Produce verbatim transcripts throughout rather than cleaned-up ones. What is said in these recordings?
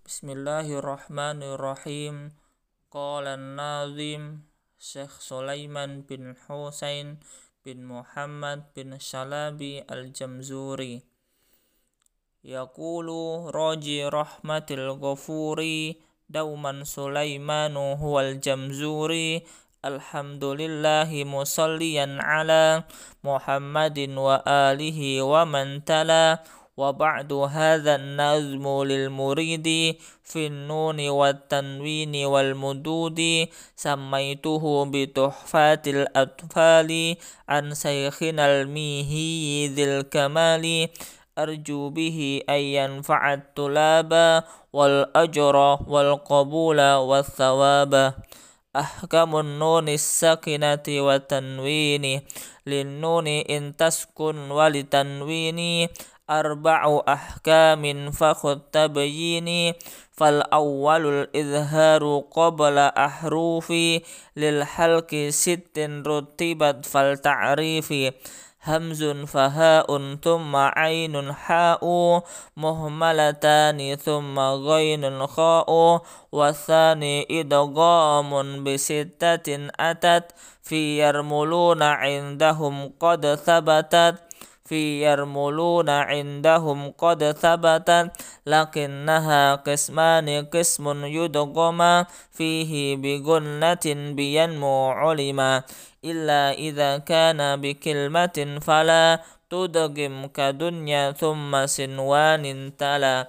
Bismillahirrahmanirrahim. Qala an-nazim Syekh Sulaiman bin Husain bin Muhammad bin Shalabi al-Jamzuri. Yaqulu raji rahmatil ghafuri dauman Sulaimanu huwal Jamzuri. Alhamdulillahi musalliyan ala Muhammadin wa alihi wa man tala. Wa ba'du hadha an-nazmu lil muridi fi an-nuni wat tanwini wal mududi sammaituhu bi tuhfatil atfali an sayyidina al-mihi dzil kamali arju bihi ay yanfa'at tulaba wal ajra wal qabula was thawaba. Ahkamun nunis sakinati wa tanwini lin nuni in taskun wal tanwini arba'u ahkamin fakhud tabyini fal awwalul izharu qabla ahrufi lil halki sittin rutibat fal ta'rifi hamzun fahaun thumma ainun ha'u muhmalatani thumma ghainun kha'u wathani idghamun bisittatin atat fi yarmuluna indahum qad thabatat fi yarmuluna indahum qad thabatat lakinnaha qismani qismun yudghama fihi bi gunnatin biyanmu ulima illa idza kana bi kilmatin fala tudghim kadunya thumma sinwanin tala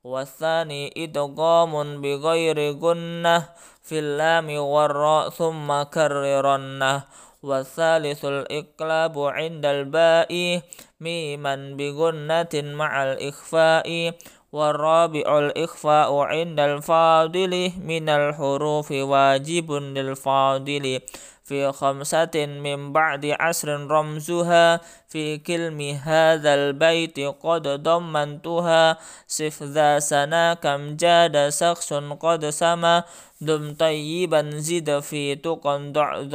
wathani idghamun bi ghairi gunnah fil lami warra thumma karrirannah wathalitsul iqlabu indal ba'i miman bi gunnatin ma'al ikhfa'i warabi'ul ikhfa'u indal fadili minal hurufi wajibun lil fadili fi khamsatin min ba'di asrin ramzuha fi kilmi hadzal baiti qad dammantuha sif dha sana kam jada sakhsun qad sama dum tayyiban zid fi tuqan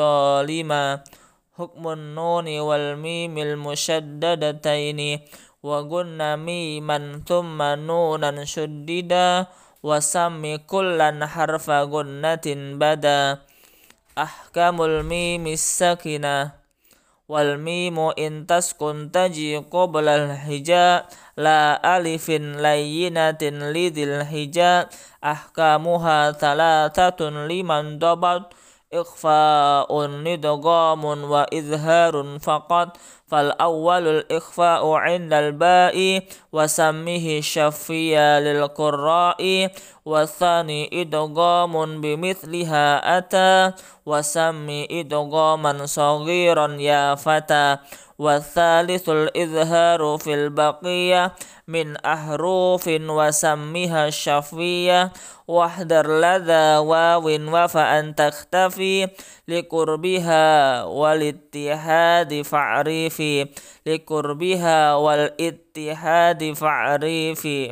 zalima hukmun nuni wal mimil musyaddadataini wa gunna miman thumma nunan shuddida wa sammi kullan harfa gunnatin bada. Ahkamul mimis sakinah wal mimu in taskun taji qabla al hija la alifin layyinatin lidil hija ahkamuha thalathatun liman dabat ikhfa'un nidghamun wa izharun faqat fal awwalul ikhfa'u 'indal ba'i wa sammihi syaffiya lil qurra'i wa tsani idghamun bimithliha ata wa sammi idghaman saghiran ya fata wa tsalithul izharu fil baqiyah min ahrufin wa sammiha syafiyah wahdar ladha wawin wa fa'an takhtafi liqurbiha wal ittihadi fa'rifi liqurbiha wal ittihadi fa'rifi.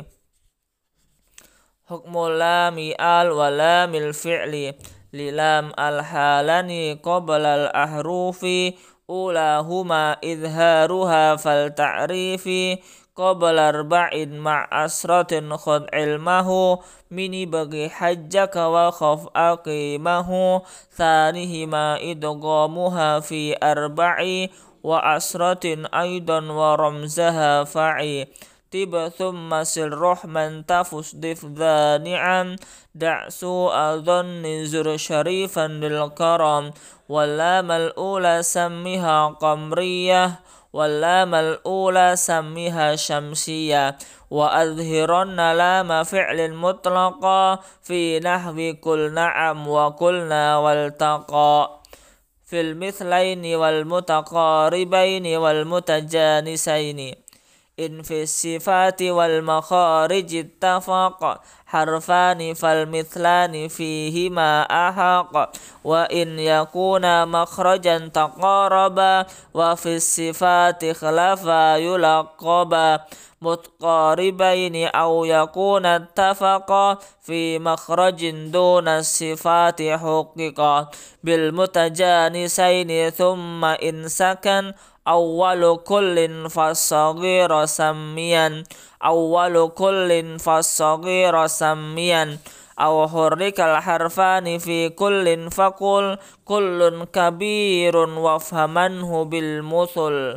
Hukmul lami al wa lamil fi'li lilam al halani qabla al ahrufi ulahuma izharuha fal ta'rifi qabla arba'in ma'asratin khud ilmahu mini bagi hajjaka wa khaf aqimahu thanihima idghamuha fi arba'i wa asratin aidan wa ramzaha fa'i tiba thumma sil rahman tafus dif dha ni'am da'su adhanni zur syarifan lil karam walamal ula sammiha qamriyah walamal ula sammiha syamsiyah wa adhiranna lama fi'lin mutlaqa fi nahwi kul na'am wa kulna wal taqa fil mithlaini wal mutaqaribaini wal mutajanisaini in fi sifati wal makharij ittafaqa harfani fal mithlani fihima ahaqa wa in yakuna makhrajan taqaraba wa fi sifati khilafa yulaqaba mutqaribaini aw yakuna ittafaqa fi makhrajin duna sifati huqiqa bil mutajanisaini thumma in sakan awwalu kullin fas-saghira sammiyan awwalu kullin fas-saghira sammiyan aw hurrikal harfani fi kullin faqul kullun kabirun wafhamanhu bil muthul.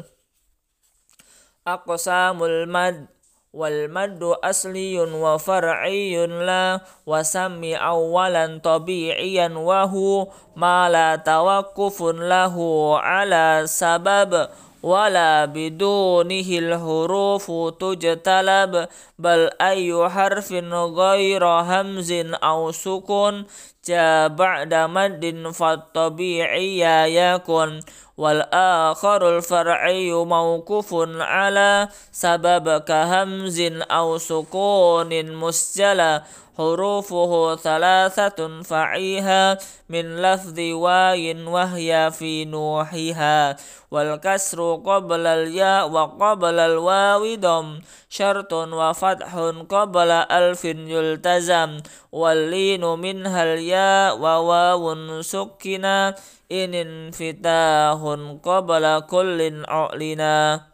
Aqsamul mad wal maddu asliyun wa far'iyun la wasammi awwalan tabi'iyan wa hu ma la tawaqqufun lahu ala sabab wala bidunihil hurufu tujtalab bal ayu harfin ghayra hamzin aw sukun ja ba'da maddin fattabi'iyya yakun wal akharul far'iyyu mawqufun ala sabab ka hamzin aw sukunin musjala hurufuhu thalathatun fa'iha min lafzi wayin wahya fi nuhiha wal kasru qabla al ya wa qabla al wawi dam syartun wa fathun qabla alfin yultazam wal linu minhal ya wa wawun sukkina inin fitahun qabla kullin u'lina.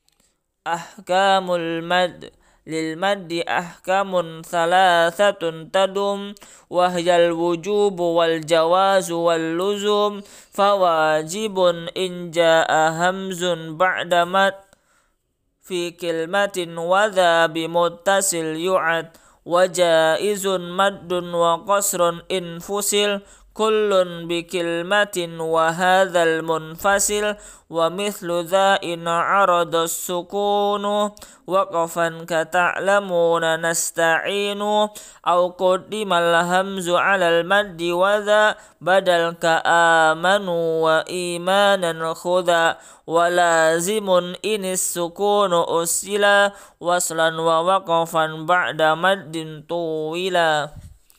Ahkamul mad lil maddi ahkamun thalathatun tadum wahyal wujubu wal jawazu wal luzum fawajibun in jaa hamzun ba'da mad fi kilmatin wadha bimuttasil yu'ad wa jaizun maddun wa qasrun in fusil kullun bi kilmatin wa hadzal munfasil wa mithlu dha in arada sukunu waqafan ka ta'lamuna nasta'inu aw quddimal hamzu 'alal maddi wa dha badal ka amanu wa imanan khudha wa lazimun inis sukunu usila waslan wa waqafan ba'da maddin tuwila.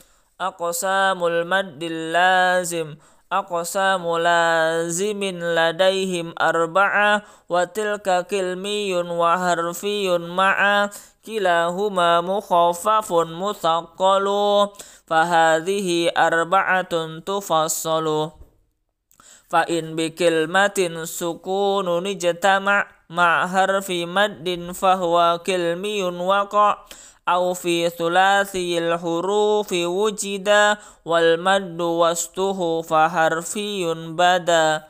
Aqsamul maddil lazim aqsamu lazimin ladaihim arba'a wa tilka kilmiyun wa harfiyun ma'a kilahuma mukhaffafun muthaqqalu fahadhihi arba'atun tufassalu fa in bi kilmatin sukunun ijtama' ma harfi maddin fahuwa kilmiyun waqa' aw fi thulathil hurufi wujida wal maddu wastuhu fa harfiyun bada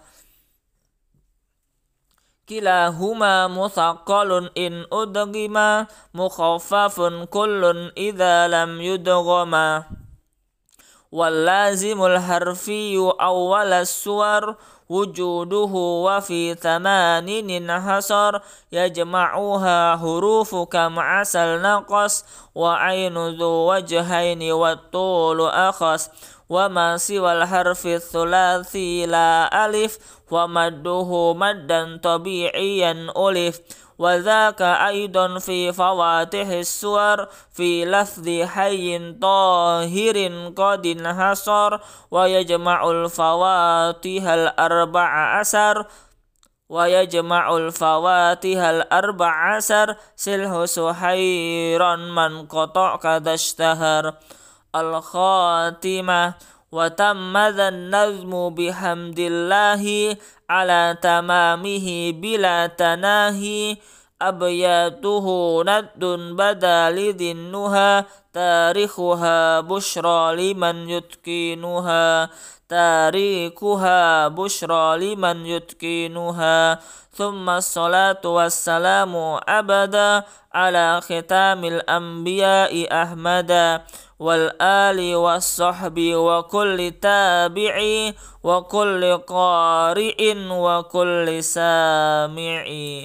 kilahuma muthaqqalun in udghima mukhaffafun kullun idza lam yudghama wal lazimul harfiyu awwalas suwar wujuduhu wa fi thamanin hasar yajma'uha hurufu kam asal naqas wa ainu dhu wajhaini wa tulu akhas wa ma siwal harfi thulathi la alif wa madduhu maddan tabi'iyan ulif wa dhaka aidan fi fawatihis suwar fi lafzi hayyin tahirin qadin hasar wa yajma'ul fawatihal arba'a asar wa yajma'ul fawatihal arba'a asar silhu suhairan man qata' kadashtahar al khatimah wa tammadhan nazmu bihamdillahi ala tamamihi bila tanahi abyatuhu naddun badalidhin nuha tarikhuha bushra liman yutkinuha tarikuha bushra liman yutkinuha thumma salatu wassalamu abada ala khitamil anbiya'i ahmada wal ali was sahbi wa kulli tabi'i wa kulli qari'in wa kulli sami'i.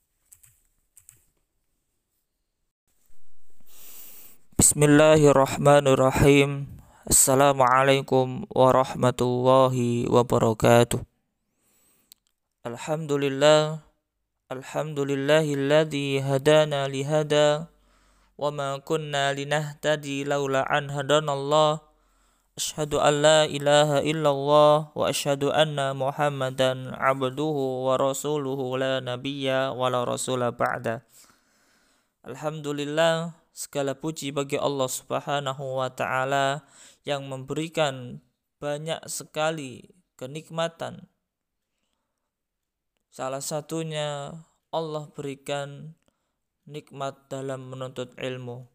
Bismillahirrahmanirrahim. Assalamualaikum warahmatullahi wabarakatuh. Alhamdulillah Alhamdulillahilladzi hadana lihada wa ma kunna linahtadi laula an hadanallah. Asyhadu an la ilaha illallah wa asyhadu anna Muhammadan abduhu wa rasuluhu la nabiyya wa la rasula ba'da. Alhamdulillah, segala puji bagi Allah Subhanahu wa taala yang memberikan banyak sekali kenikmatan Salah satunya Allah berikan nikmat dalam menuntut ilmu.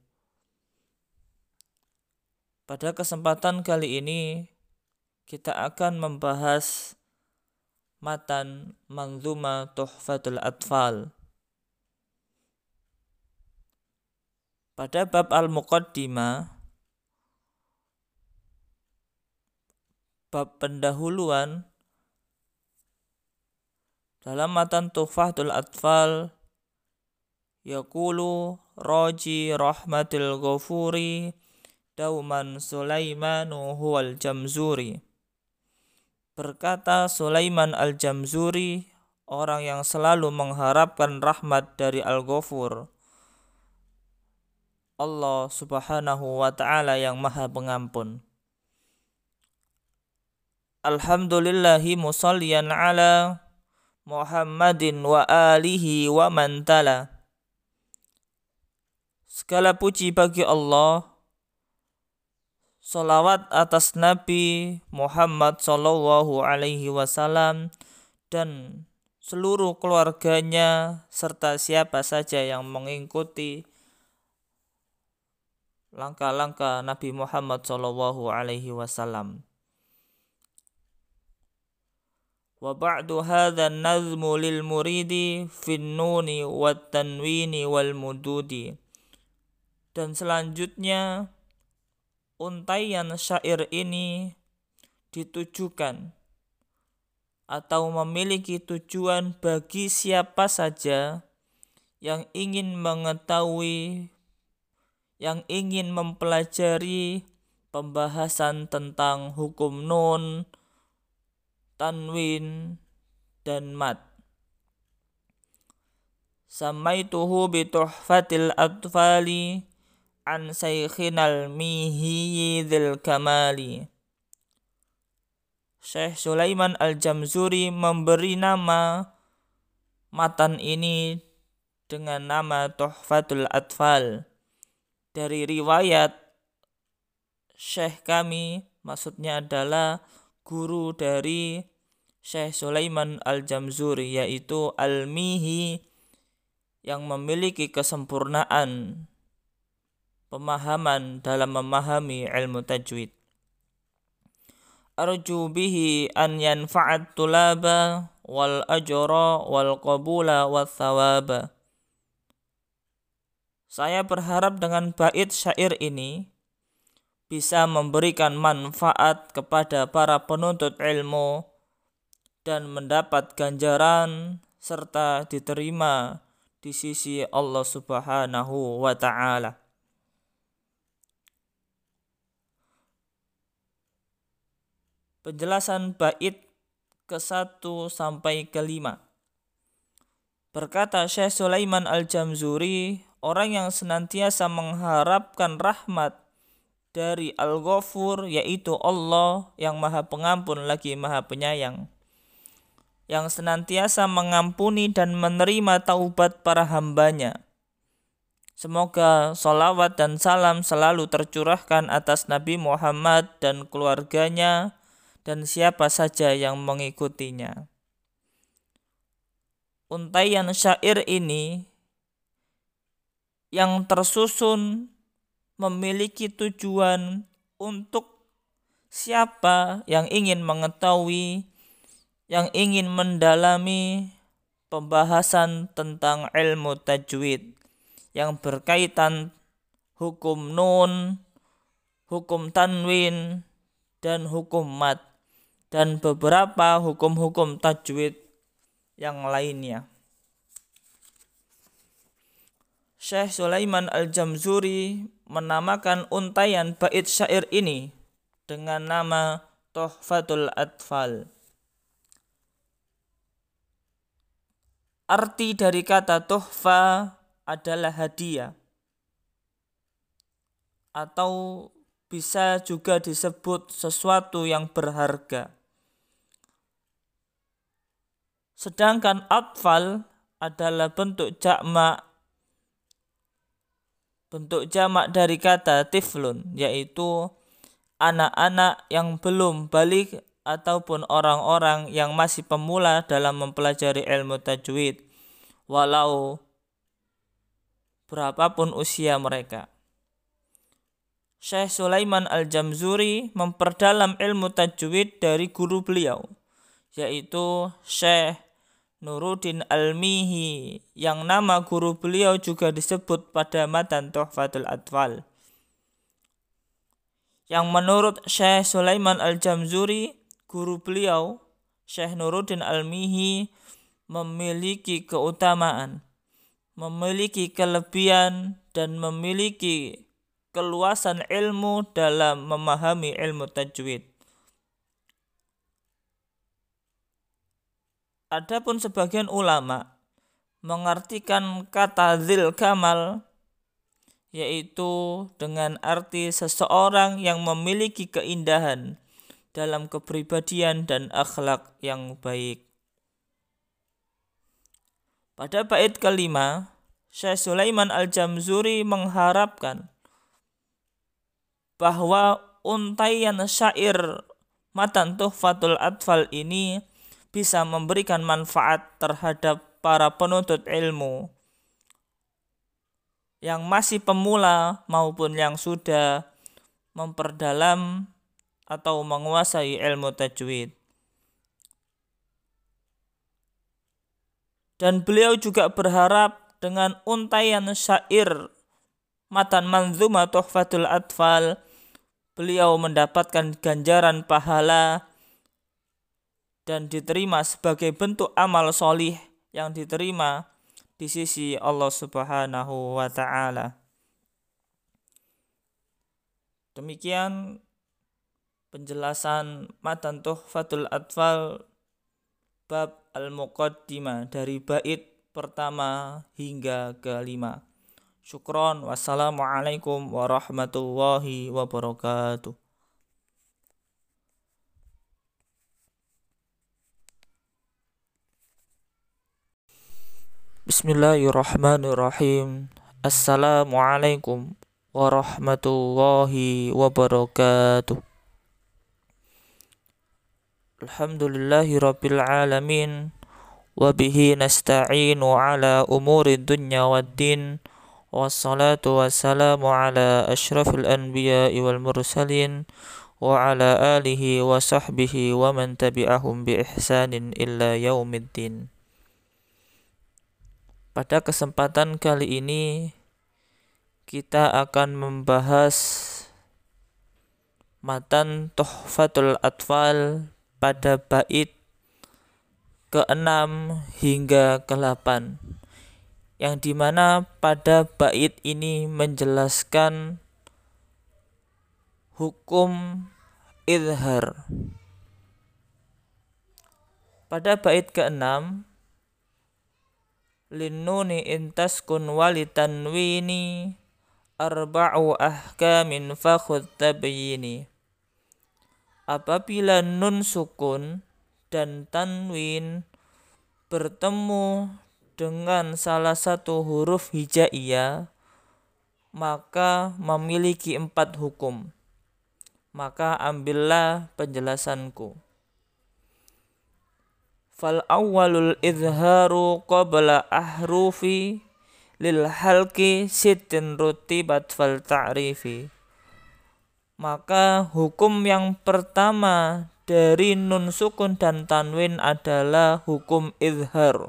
Pada kesempatan kali ini kita akan membahas matan Manzuma Tuhfatul Atfal. Pada bab Al-Muqaddimah, bab pendahuluan, dalam matan Tuhfatul Atfal yaqulu raji rahmatil ghafuri dauman Sulaimanu huwal Jamzuri. Berkata Sulaiman al-Jamzuri, orang yang selalu mengharapkan rahmat dari Al-Ghafur, Allah subhanahu wa ta'ala yang maha pengampun. Alhamdulillahi musalliyan ala Muhammadin wa alihi wa man tala. Segala puji bagi Allah, salawat atas Nabi Muhammad sallallahu alaihi wasallam dan seluruh keluarganya serta siapa saja yang mengikuti langkah-langkah Nabi Muhammad sallallahu alaihi wasallam. Wa ba'du hadza an-nazmu lil muridi fin nuni wat tanwini wal mududi. Dan selanjutnya untaian syair ini ditujukan atau memiliki tujuan bagi siapa saja yang ingin mengetahui, yang ingin mempelajari pembahasan tentang hukum nun, tanwin, dan mad. Samaituhu bi Tuhfatil Atfali an Sayyidinal Mihyi dzil Kamali. Syekh Sulaiman al-Jamzuri memberi nama matan ini dengan nama Tuhfatul Atfal dari riwayat Syekh kami, maksudnya adalah guru dari Syekh Sulaiman al-Jamzuri, yaitu Al-Mihyi, yang memiliki kesempurnaan pemahaman dalam memahami ilmu tajwid. Arju bihi an yanfa'at tulaba wal ajra wal qabula wal thawaba. Saya berharap dengan bait syair ini bisa memberikan manfaat kepada para penuntut ilmu dan mendapat ganjaran serta diterima di sisi Allah Subhanahu wa ta'ala. Penjelasan bait ke satu sampai ke lima. Berkata Syekh Sulaiman al-Jamzuri, orang yang senantiasa mengharapkan rahmat dari Al-Ghafur, yaitu Allah yang maha pengampun lagi maha penyayang, yang senantiasa mengampuni dan menerima taubat para hambanya. Semoga salawat dan salam selalu tercurahkan atas Nabi Muhammad dan keluarganya dan siapa saja yang mengikutinya. Untaian syair ini yang tersusun memiliki tujuan untuk siapa yang ingin mengetahui, yang ingin mendalami pembahasan tentang ilmu tajwid yang berkaitan hukum nun, hukum tanwin, dan hukum mad, dan beberapa hukum-hukum tajwid yang lainnya. Syekh Sulaiman al-Jamzuri menamakan untaian bait syair ini dengan nama Tuhfatul Atfal. Arti dari kata tuhfa adalah hadiah, atau bisa juga disebut sesuatu yang berharga. Sedangkan atfal adalah bentuk jamak, bentuk jamak dari kata tiflun, yaitu anak-anak yang belum balik ataupun orang-orang yang masih pemula dalam mempelajari ilmu tajwid, walau berapapun usia mereka. Syekh Sulaiman Al-Jamzuri memperdalam ilmu tajwid dari guru beliau, yaitu Syekh Nuruddin Al-Mihi, yang nama guru beliau juga disebut pada matan Tuhfatul Atfal. Yang menurut Syekh Sulaiman Al-Jamzuri, guru beliau Syekh Nuruddin Al-Mihi memiliki keutamaan, memiliki kelebihan, dan memiliki keluasan ilmu dalam memahami ilmu tajwid. Adapun sebagian ulama mengartikan kata dzil kamal yaitu dengan arti seseorang yang memiliki keindahan dalam kepribadian dan akhlak yang baik. Pada bait kelima, Syekh Sulaiman Al-Jamzuri mengharapkan bahwa untaian syair matan Tuhfatul Atfal ini bisa memberikan manfaat terhadap para penuntut ilmu yang masih pemula maupun yang sudah memperdalam atau menguasai ilmu tajwid. Dan beliau juga berharap dengan untaian syair matan manzuma Tuhfatul Atfal, beliau mendapatkan ganjaran pahala dan diterima sebagai bentuk amal solih yang diterima di sisi Allah Subhanahu wa Ta'ala. Demikian penjelasan matan Tuhfatul Atfal bab Al-Muqaddimah dari bait pertama hingga kelima. Syukron, wassalamualaikum warahmatullahi wabarakatuh. Bismillahirrahmanirrahim. Assalamualaikum warahmatullahi wabarakatuh. Alhamdulillahi rabbil alamin, wabihi nasta'inu ala umuri dunya waddin, wassalatu wassalamu ala ashrafil anbiya'i wal mursalin, wa ala alihi wa sahbihi wa man tabi'ahum bi ihsanin illa yaumiddin. Pada kesempatan kali ini kita akan membahas matan Tuhfatul Atfal pada bait keenam hingga kedelapan, yang dimana pada bait ini menjelaskan hukum izhar. Pada bait keenam, linnuni intaskun walitanwini arba'u ahkamin fakhud tabyini. Apabila nun sukun dan tanwin bertemu dengan salah satu huruf hijaiyah, maka memiliki empat hukum. Maka ambillah penjelasanku. Fal awwalul izharu qabla ahrufi lil halqi sittin rutibat fal ta'rifi. Maka hukum yang pertama dari nun sukun dan tanwin adalah hukum izhar.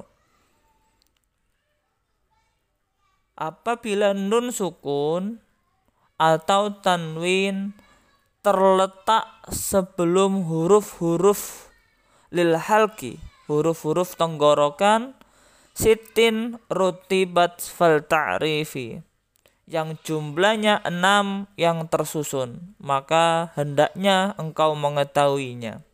Apabila nun sukun atau tanwin terletak sebelum huruf-huruf lil halqi, huruf-huruf tenggorokan, sitin rutibat fal ta'rifi, yang jumlahnya enam yang tersusun, maka hendaknya engkau mengetahuinya.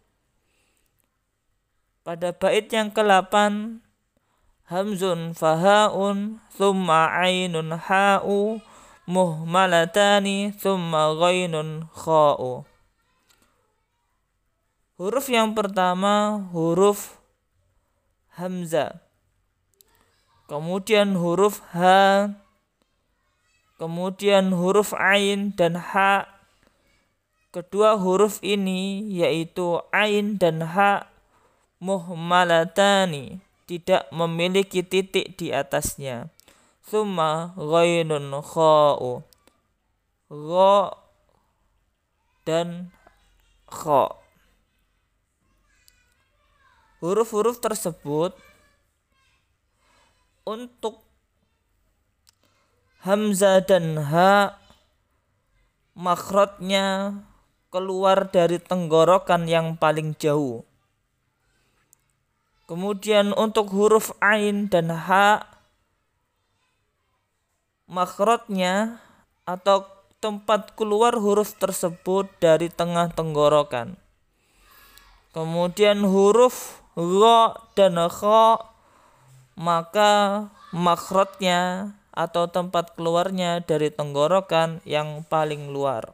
Pada bait yang kedelapan, hamzun fahaun thumma ainun ha'u muhmalatani thumma ghainun kha'u. Huruf yang pertama huruf hamzah, kemudian huruf ha, kemudian huruf ain dan ha, kedua huruf ini yaitu ain dan ha muhmalatani, tidak memiliki titik di atasnya. Tsumma ghainun kha'u, gha dan kha. Huruf-huruf tersebut untuk hamzah dan ha makhrajnya keluar dari tenggorokan yang paling jauh. Kemudian untuk huruf ain dan ha makhrajnya atau tempat keluar huruf tersebut dari tengah tenggorokan. Kemudian huruf gha dan kha maka makhrajnya atau tempat keluarnya dari tenggorokan yang paling luar.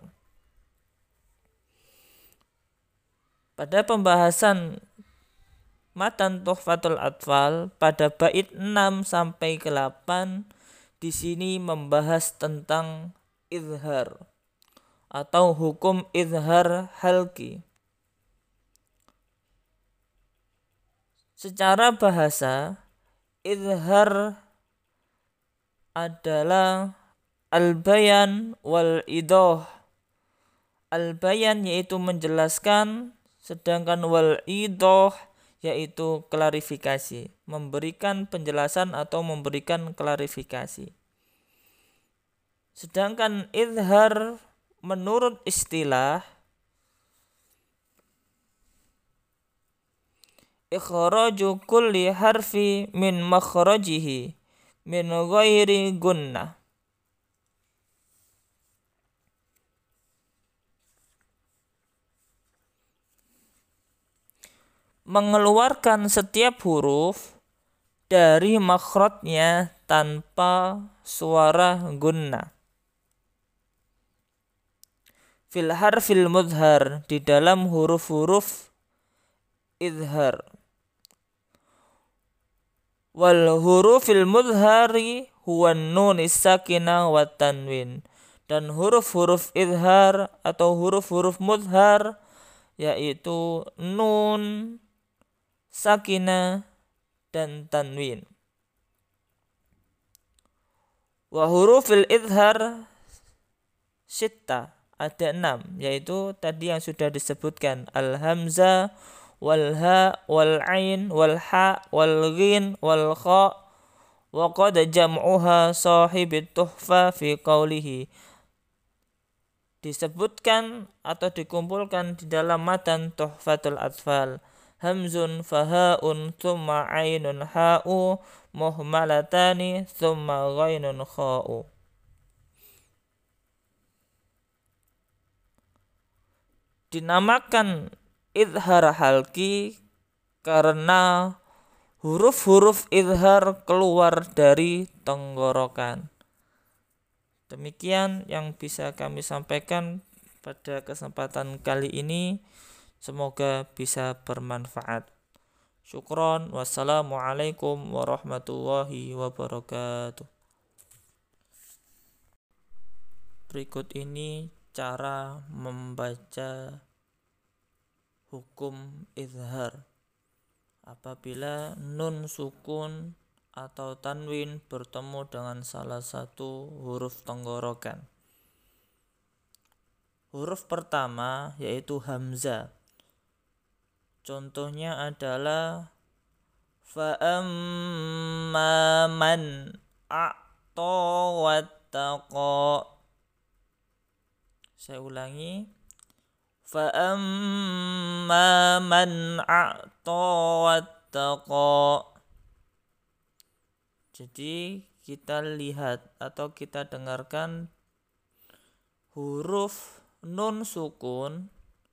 Pada pembahasan matan Tuhfatul Atfal pada bait enam sampai ke delapan di sini membahas tentang izhar atau hukum izhar halqi. Secara bahasa, izhar adalah al-bayan wal idah. Al-bayan yaitu menjelaskan, sedangkan wal idah yaitu klarifikasi, memberikan penjelasan atau memberikan klarifikasi. Sedangkan izhar menurut istilah ikhraju kulli harfi min makhrajihi min ghairi gunnah. Mengeluarkan setiap huruf dari makhrajnya tanpa suara gunnah. Fil harfil mudhar, di dalam huruf-huruf izhar. Wal hurufil mudhari huwa nun sakina wa tanwin. Dan huruf-huruf izhar atau huruf-huruf mudhar yaitu nun, sakina dan tanwin. Wa hurufil izhar sitta, ada enam, yaitu tadi yang sudah disebutkan al-hamzah wal ha wal ain wal ha wal ghin wal kha wa qad jam'uha sahibit tuhfa fi qawlihi, disebutkan atau dikumpulkan di dalam matan Tuhfatul Atfal. Hamzun fahaun thumma ainun ha'u muhmalatani thumma ghainun kha'u. Dinamakan izhar halqi karena huruf-huruf izhar keluar dari tenggorokan. Demikian yang bisa kami sampaikan pada kesempatan kali ini. Semoga bisa bermanfaat. Syukron. Wassalamualaikum warahmatullahi wabarakatuh. Berikut ini cara membaca hukum izhar apabila nun sukun atau tanwin bertemu dengan salah satu huruf tenggorokan. Huruf pertama yaitu hamzah. Contohnya adalah fa'amma man a'ta wattaqa. Saya ulangi. Fa'amma man a'ta wattaqa. Jadi kita lihat atau kita dengarkan huruf nun sukun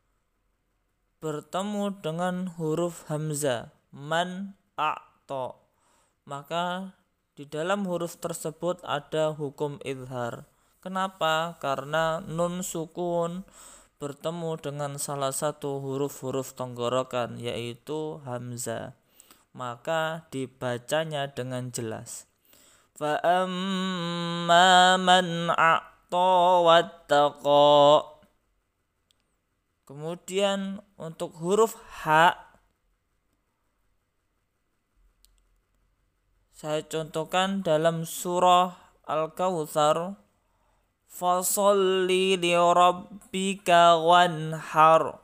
bertemu dengan huruf hamzah man a'ta, maka di dalam huruf tersebut ada hukum izhar. Kenapa? Karena nun sukun bertemu dengan salah satu huruf-huruf tenggorokan yaitu hamzah, maka dibacanya dengan jelas. Fa amma man a'ta wattaqa. Kemudian untuk huruf H, saya contohkan dalam surah Al-Kautsar, fasholli li rabbika wanhar.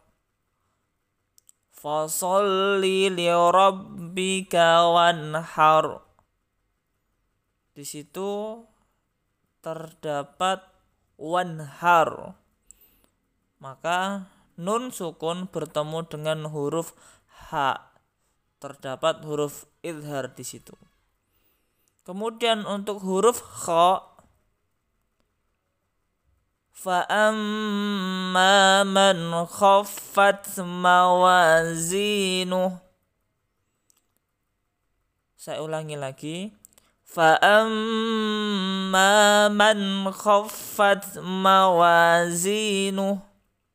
Fasholli li rabbika wanhar. Di situ terdapat wanhar. Maka nun sukun bertemu dengan huruf H. Terdapat huruf idhar di situ. Kemudian untuk huruf kha, fa amma man khaffat mawazinuh. Saya ulangi lagi. Fa amma man khaffat mawazinuh.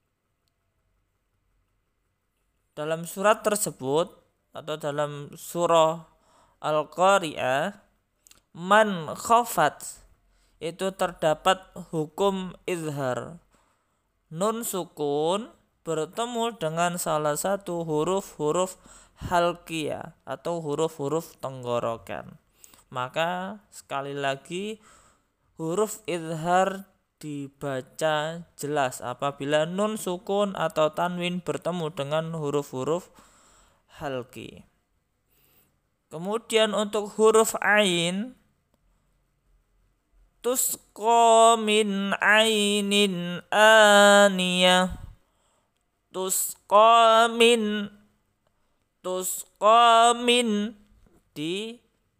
Dalam surat tersebut atau dalam surah Al-Qari'ah, man khafat itu terdapat hukum izhar. Nun sukun bertemu dengan salah satu huruf-huruf halqiyah atau huruf-huruf tenggorokan. Maka sekali lagi huruf izhar dibaca jelas apabila nun sukun atau tanwin bertemu dengan huruf-huruf halqi. Kemudian untuk huruf ain, tusqa min ainin aniyah. Tusqa min tusqa min di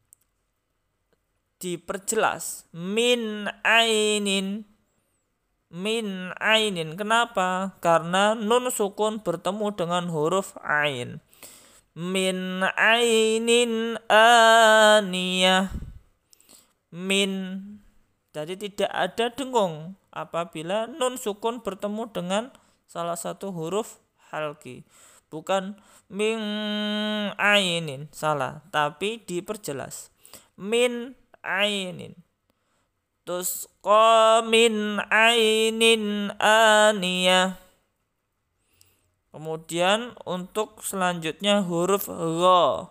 diperjelas min ainin min ainin. Kenapa? Karena nun sukun bertemu dengan huruf ain. Min ainin aniyah. Min, jadi tidak ada dengung apabila nun sukun bertemu dengan salah satu huruf halqi. Bukan min ainin, salah, tapi diperjelas. Min ainin. Tusqa min ainin aniyah. Kemudian untuk selanjutnya huruf gha.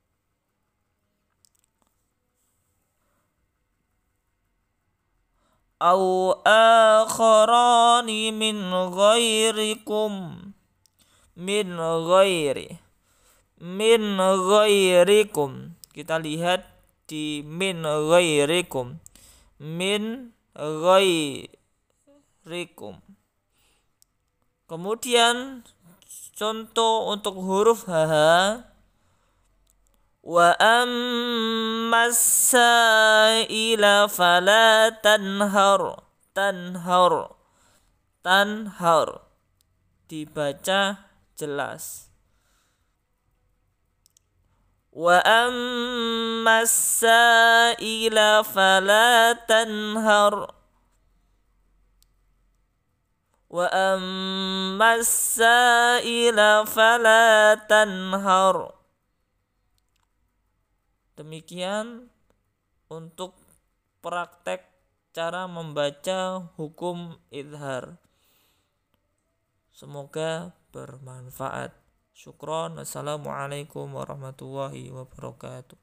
Au akharani min ghairikum. Min ghairi. Min ghairikum. Kita lihat di min ghairikum. Min ghairikum. Kemudian contoh untuk huruf H. Wa ammas sa'ila fala tanhar. Tanhar. Tanhar. Dibaca jelas. Wa ammas sa'ila fala tanhar. Wa ammas sa'ila fala tanhar. Demikian untuk praktek cara membaca hukum izhar. Semoga bermanfaat. Syukron. Assalamualaikum warahmatullahi wabarakatuh.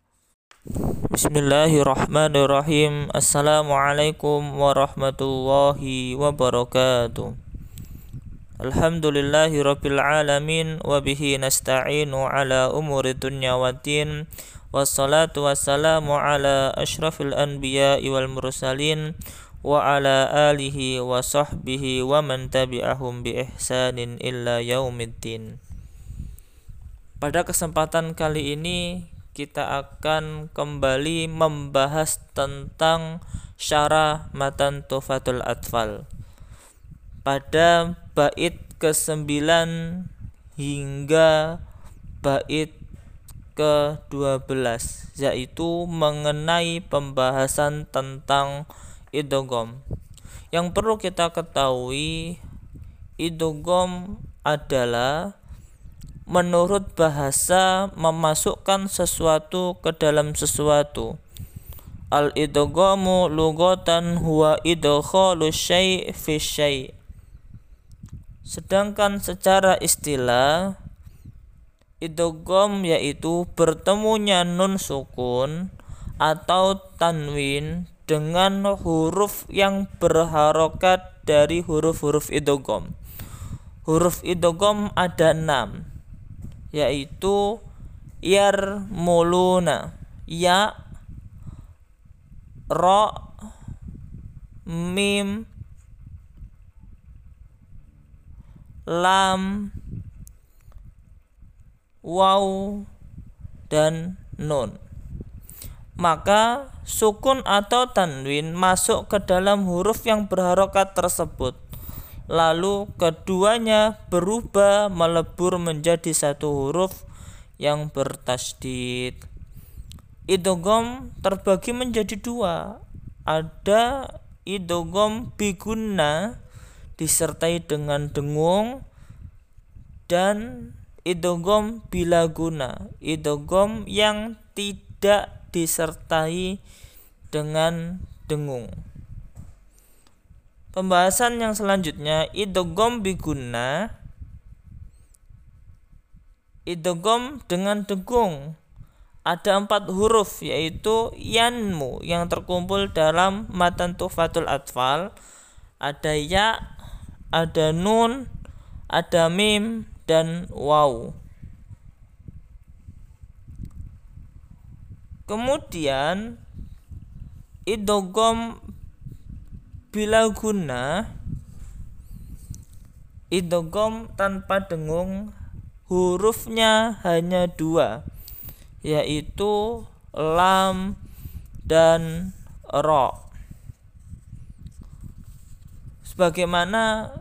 Bismillahirrahmanirrahim. Assalamualaikum warahmatullahi wabarakatuh. Alhamdulillahi rabbil alamin. Wabihi nasta'inu ala umuri dunya waddin. Wassalatu wassalamu ala ashrafil anbiya'i wal mursalin. Wa ala alihi wa sahbihi wa man tabi'ahum bi ihsanin illa yaumiddin. Pada kesempatan kali ini kita akan kembali membahas tentang syarah matan Tuhfatul Atfal. Pada bait kesembilan hingga bait ke dua belas, yaitu mengenai pembahasan tentang idgham. Yang perlu kita ketahui, idgham adalah menurut bahasa memasukkan sesuatu ke dalam sesuatu. Al-idghamu lughatan huwa idkhalu syai' fi syai'. Sedangkan secara istilah idgham yaitu bertemunya nun sukun atau tanwin dengan huruf yang berharokat dari huruf-huruf idgham. Huruf idgham ada enam, yaitu yarmuluna, ya, ro, mim, lam, waw, dan nun. Maka sukun atau tanwin masuk ke dalam huruf yang berharokat tersebut, lalu keduanya berubah melebur menjadi satu huruf yang bertasydid. Idgham terbagi menjadi dua. Ada idgham bigunna disertai dengan dengung, dan idgham bila guna, idgham yang tidak disertai dengan dengung. Pembahasan yang selanjutnya, idgham bigunna, idgham dengan dengung. Ada empat huruf, yaitu yanmu yang terkumpul dalam matan Tuhfatul Atfal. Ada ya, ada nun, ada mim, dan waw. Kemudian idgham bila guna, idgham tanpa dengung, hurufnya hanya dua, yaitu lam dan ro. Sebagaimana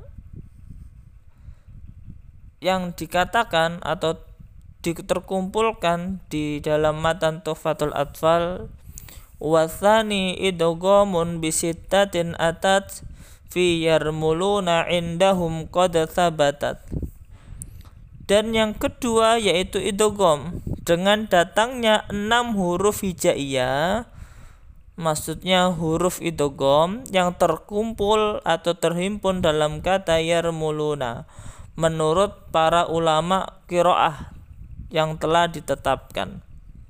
yang dikatakan atau diterkumpulkan di dalam matan Tuhfatul Atfal, wasani idghamun bisittatin atat fi yarmuluna indahum qad thabatat. Dan yang kedua yaitu idgham dengan datangnya enam huruf hijaiyah, maksudnya huruf idgham yang terkumpul atau terhimpun dalam kata yarmuluna menurut para ulama qiraah yang telah ditetapkan.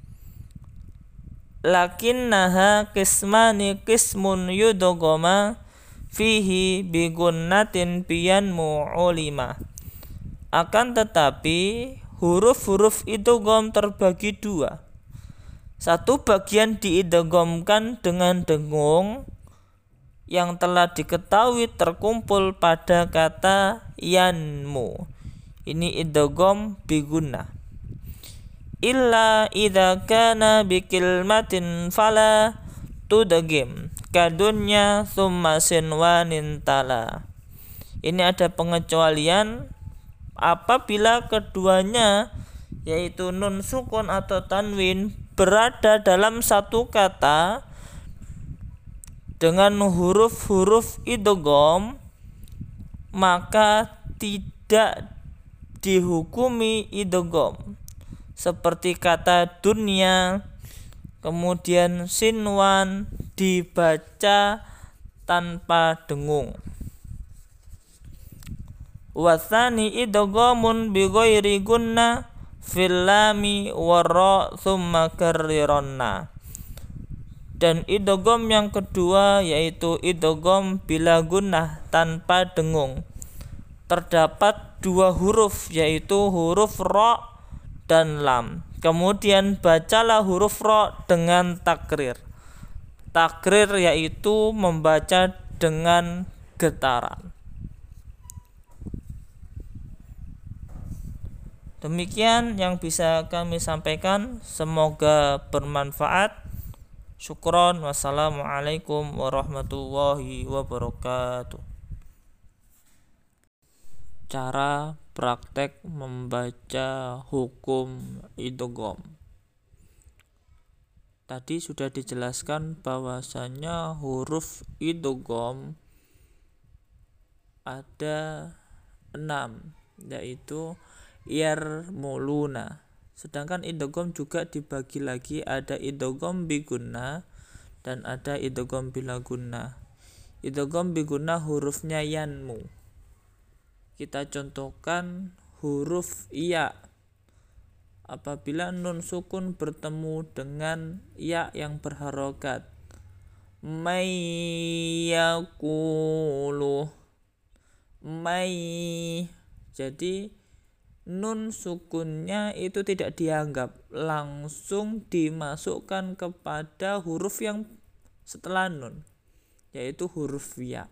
Lakinnaha qismani qismun yudghama fihi bigunnatin biyanmu ulima. Akan tetapi huruf-huruf idgham terbagi dua. Satu bagian diidghamkan dengan dengung yang telah diketahui terkumpul pada kata yanmu. Ini idgham bigunnah. Illa idza kana bikilmatin fala tudghim kadunya summa sinwanin tala. Ini ada pengecualian apabila keduanya yaitu nun sukun atau tanwin berada dalam satu kata dengan huruf-huruf idgham, maka tidak dihukumi idgham. Seperti kata dunia, kemudian sinwan dibaca tanpa dengung. Wasani idghamun bi ghairi gunna fil lami warra thumma karrironna. Dan idgham yang kedua yaitu idgham bila gunnah tanpa dengung. Terdapat dua huruf yaitu huruf ra dan lam. Kemudian bacalah huruf ra dengan takrir. Takrir yaitu membaca dengan getaran. Demikian yang bisa kami sampaikan, semoga bermanfaat. Syukron. Wassalamualaikum warahmatullahi wabarakatuh. Cara praktek membaca hukum idgham. Tadi sudah dijelaskan bahwasanya huruf idgham ada enam, yaitu yarmuluna. Sedangkan idgham juga dibagi lagi, ada idgham bigunnah dan ada idgham bila gunnah. Idgham bigunnah hurufnya yanmu. kita contohkan huruf ya. Apabila nun sukun bertemu dengan ya yang berharokat, mayyakulu, may, jadi nun sukunnya itu tidak dianggap, langsung dimasukkan kepada huruf yang setelah nun, yaitu huruf ya.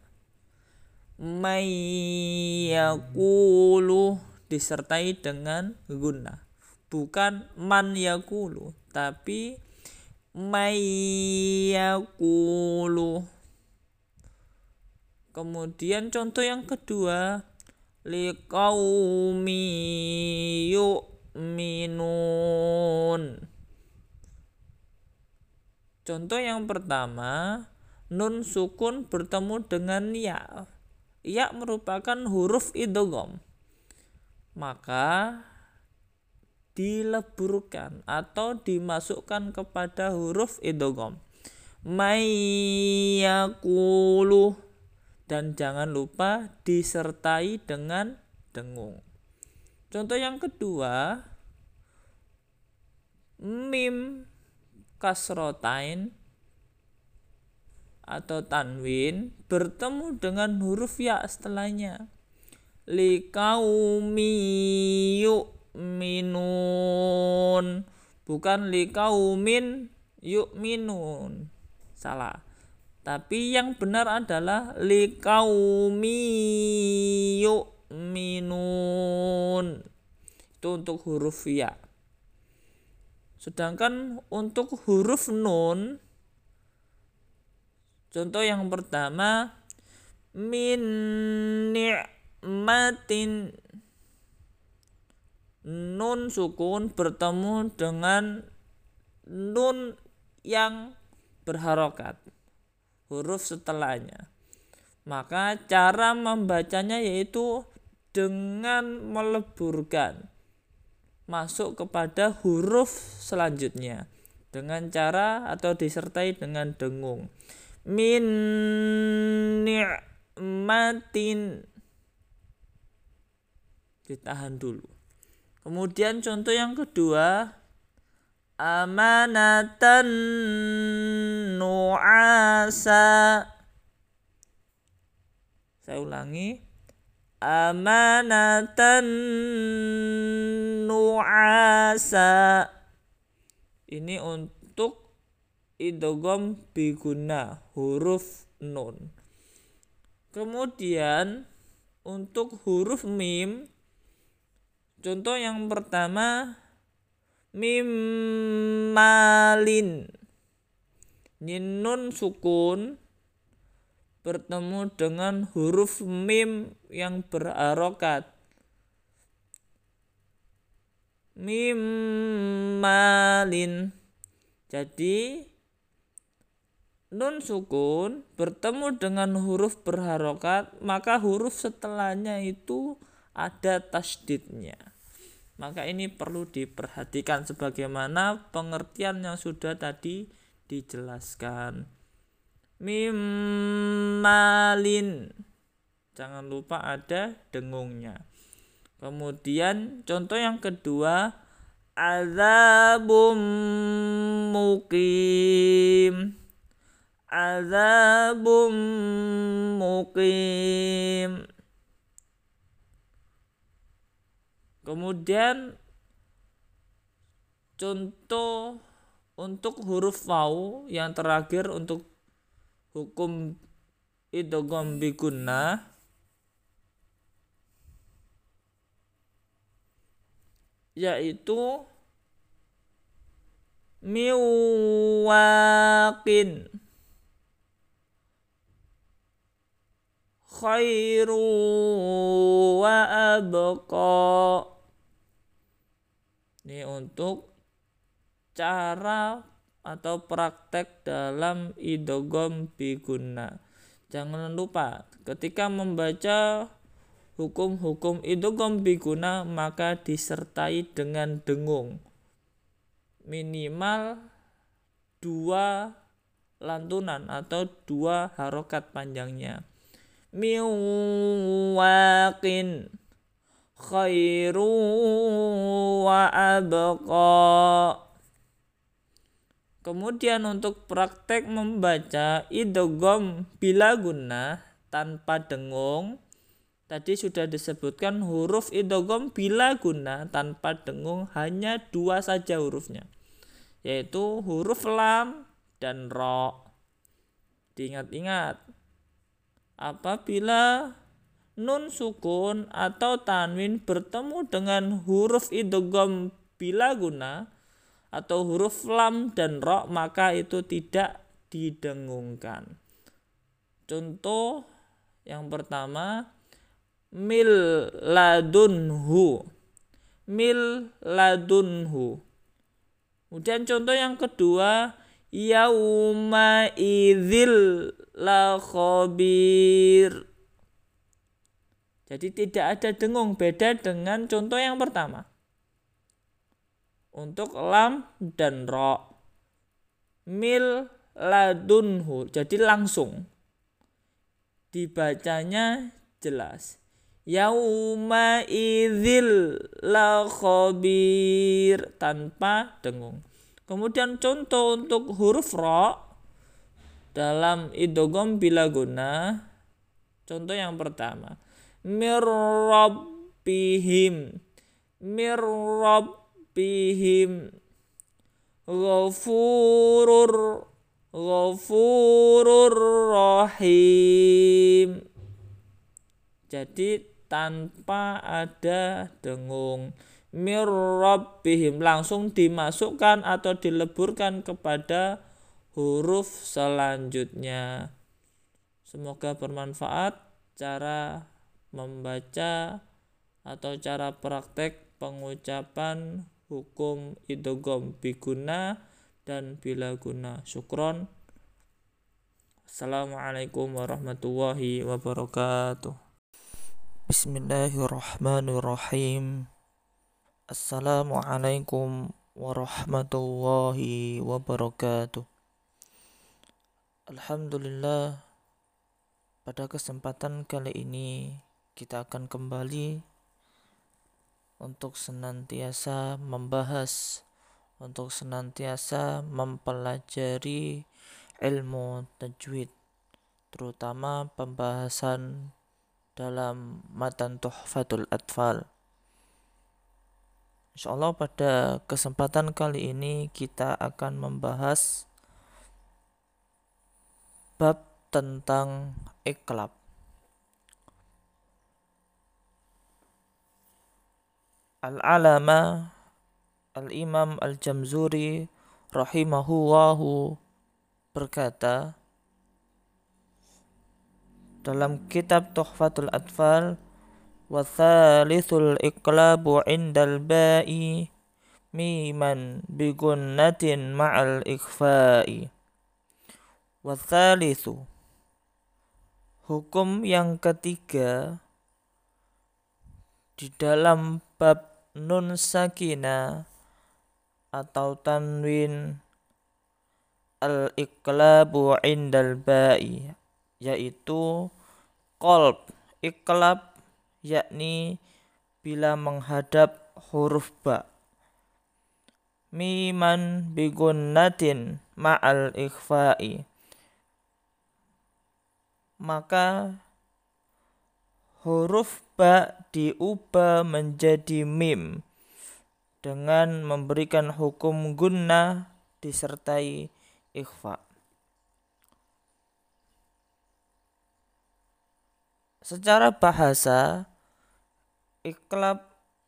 Mayyakulu disertai dengan gunnah, bukan man yakulu, tapi mayyakulu. Kemudian contoh yang kedua, liqaumi yu'minun. Contoh yang pertama, nun sukun bertemu dengan ya. Ya merupakan huruf idgham, maka dileburkan atau dimasukkan kepada huruf idgham, mayyakulu, dan jangan lupa disertai dengan dengung. Contoh yang kedua, mim kasrotain atau tanwin bertemu dengan huruf ya setelahnya, liqaumi yu'minun, bukan liqaumin yu'minun, salah. Tapi yang benar adalah liqaumi yu'minun, itu untuk huruf ya. Sedangkan untuk huruf nun, contoh yang pertama, min ni'matin, nun sukun bertemu dengan nun yang berharokat, huruf setelahnya. Maka cara membacanya yaitu dengan meleburkan masuk kepada huruf selanjutnya dengan cara atau disertai dengan dengung. Min ni'matin, ditahan dulu. Kemudian contoh yang kedua, amanatan nu'asa. Saya ulangi, amanatan nu'asa. Ini untuk idgham bi gunnah, huruf nun. Kemudian untuk huruf mim, contoh yang pertama, mim malin, ini nun sukun bertemu dengan huruf mim yang berharokat, mim malin. Jadi nun sukun bertemu dengan huruf berharokat, maka huruf setelahnya itu ada tasdidnya. Maka ini perlu diperhatikan sebagaimana pengertian yang sudah tadi dijelaskan. Mim malin, jangan lupa ada dengungnya. Kemudian contoh yang kedua, azabum muqim, azabum muqim. Kemudian contoh untuk huruf waw yang terakhir untuk hukum idgham bi gunnah, yaitu miwaqin, khairu wa abqa. Ini untuk cara atau praktek dalam idgham bi gunnah. Jangan lupa ketika membaca hukum-hukum idgham bi gunnah maka disertai dengan dengung, minimal dua lantunan atau dua harokat panjangnya. min waqin khairu wa abqa. Kemudian untuk praktek membaca idgham bila gunnah tanpa dengung, tadi sudah disebutkan huruf idgham bila gunnah tanpa dengung hanya dua saja hurufnya, yaitu huruf lam dan ro. Diingat-ingat, apabila nun sukun atau tanwin bertemu dengan huruf idgham bila gunnah atau huruf lam dan ro, maka itu tidak didengungkan. Contoh yang pertama, mil ladunhu, mil ladunhu. Kemudian contoh yang kedua, yauma idzil la khabir. Jadi tidak ada dengung, beda dengan contoh yang pertama. Untuk lam dan ro, mil ladunhu, jadi langsung dibacanya jelas, yauma idzil la khabir, tanpa dengung. Kemudian contoh untuk huruf ro dalam idgham bila gunnah, contoh yang pertama, mir rabbihim, mir rabbihim, ghafurur ghafurur rahim. Jadi tanpa ada dengung, mir rabbihim langsung dimasukkan atau dileburkan kepada huruf selanjutnya. Semoga bermanfaat cara membaca atau cara praktek pengucapan hukum idgham biguna dan bila guna. Syukron. Assalamualaikum warahmatullahi wabarakatuh. Bismillahirrahmanirrahim. Assalamualaikum warahmatullahi wabarakatuh. Alhamdulillah, pada kesempatan kali ini kita akan kembali untuk senantiasa membahas, untuk senantiasa mempelajari ilmu tajwid, terutama pembahasan dalam matan Tuhfatul Atfal. Insyaallah pada kesempatan kali ini kita akan membahas bab tentang iqlab. Al-Alama Al-Imam Al-Jamzuri rahimahullahu berkata dalam kitab Tuhfatul Atfal, wa thalithul iqlabu indal ba'i miman bigunnatin ma'al ikhfa'i. Wa thalithu, hukum yang ketiga di dalam bab nun sakinah atau tanwin al-iqlabu indal ba'i, yaitu qalb iqlab, yakni bila menghadap huruf ba, miman bigunnatin ma'al ikhfa'i, maka huruf ba diubah menjadi mim dengan memberikan hukum gunnah disertai ikhfa. Secara bahasa, iqlab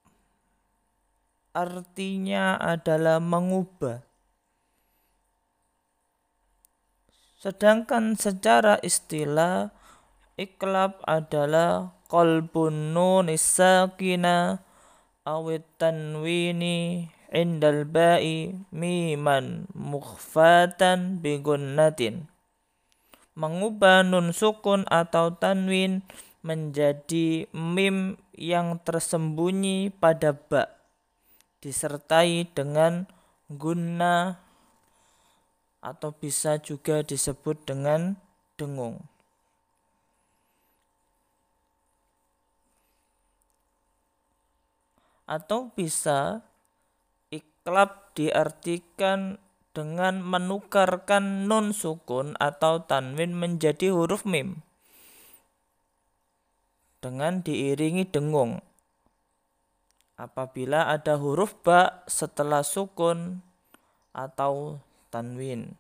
artinya adalah mengubah. Sedangkan secara istilah, iqlab adalah qalbun nun sakina awit tanwini indal ba'i miman mukhfatan bigunnatin, mengubah nun sukun atau tanwin menjadi mim yang tersembunyi pada ba disertai dengan gunnah atau bisa juga disebut dengan dengung. atau bisa iklab diartikan dengan menukarkan nun sukun atau tanwin menjadi huruf mim dengan diiringi dengung apabila ada huruf ba setelah sukun atau tanwin.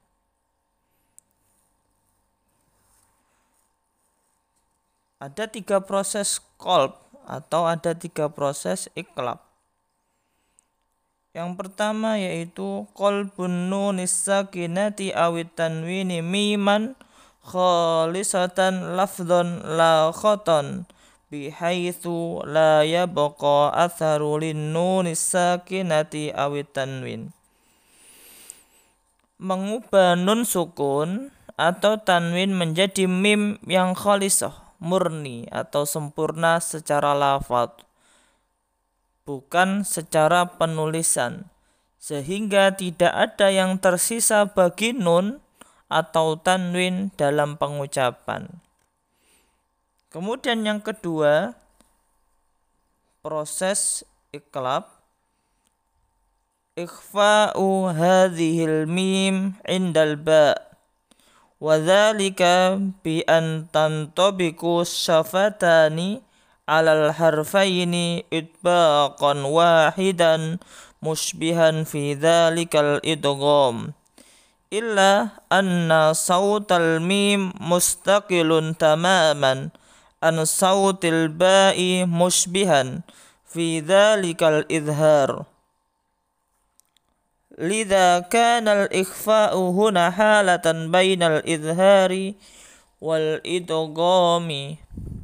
Ada tiga proses qalb atau ada tiga proses iklab. Yang pertama yaitu qalbun nunis sakinati awit tanwini miman khalisatan lafdhan la khoton bihaitsu la yabqa atharu lin nunis sakinati awit tanwin. Mengubah nun sukun atau tanwin menjadi mim yang khalisah, murni atau sempurna secara lafaz, bukan secara penulisan, sehingga tidak ada yang tersisa bagi nun atau tanwin dalam pengucapan. Kemudian yang kedua, proses iklab, ikhfa'u hadhil mim indal ba' wa dzalika bi an tantabiqu syafatani alal harfaini itbaqan wahidan mushbihan fi dzalikal idgham illa anna sautal mim mustaqilun tamaman an sautil ba'i mushbihan fi dzalikal idhar. Lidha kana al-ikhfa'u huna halatan bainal idhari wal idghami.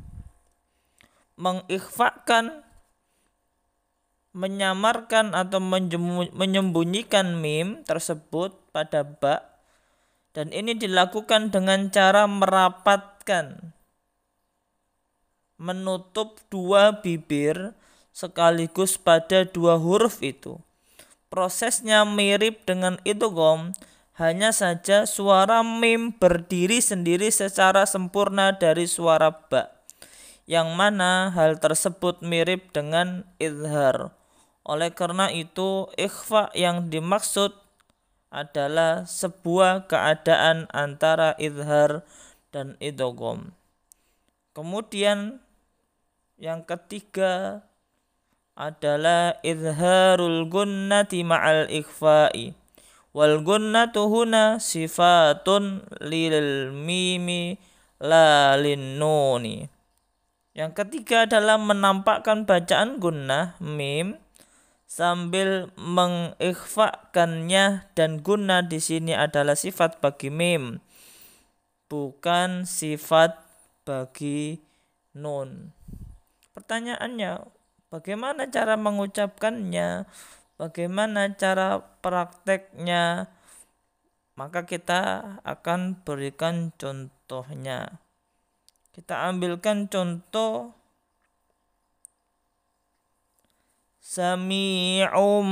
Mengikhfakan, menyamarkan atau menyembunyikan mim tersebut pada ba, dan ini dilakukan dengan cara merapatkan, menutup dua bibir sekaligus pada dua huruf itu. Prosesnya mirip dengan idgham, hanya saja suara mim berdiri sendiri secara sempurna dari suara ba, yang mana hal tersebut mirip dengan idhar. Oleh karena itu, ikhfa yang dimaksud adalah sebuah keadaan antara idhar dan idgham. Kemudian yang ketiga adalah izharul gunnati ma'al ikhfa'i. Wal gunnatu huna sifatun lil mimi la lin nuni. Yang ketiga adalah menampakkan bacaan gunnah mim sambil mengikhfakannya, dan gunnah di sini adalah sifat bagi mim, bukan sifat bagi nun. Pertanyaannya, bagaimana cara mengucapkannya? Bagaimana cara prakteknya? Maka kita akan berikan contohnya. Kita ambilkan contoh Sami'um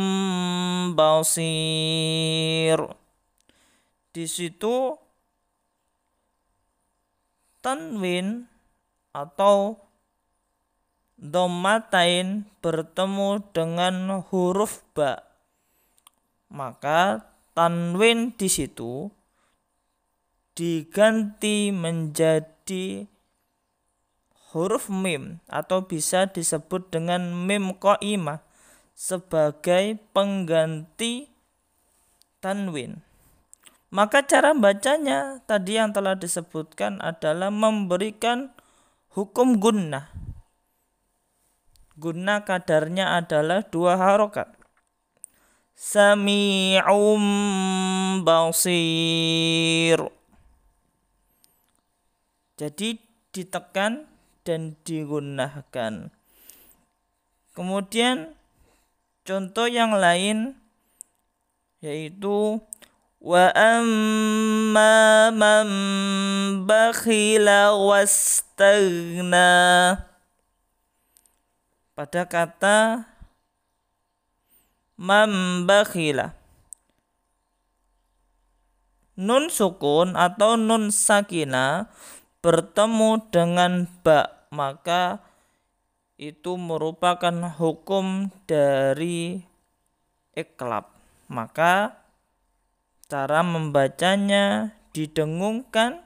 basir. Di situ tanwin atau dhammatain bertemu dengan huruf ba, maka tanwin di situ diganti menjadi huruf mim atau bisa disebut dengan mim qaimah sebagai pengganti tanwin. Maka cara bacanya tadi yang telah disebutkan adalah memberikan hukum gunnah. Gunnah kadarnya adalah dua harokat. Sami'um basir. Jadi ditekan dan digunnahkan. Kemudian contoh yang lain yaitu wa amma man bakhila wastaghna. Pada kata man bakhila, nun sukun atau nun sakina bertemu dengan ba, maka itu merupakan hukum dari iqlab. Maka cara membacanya didengungkan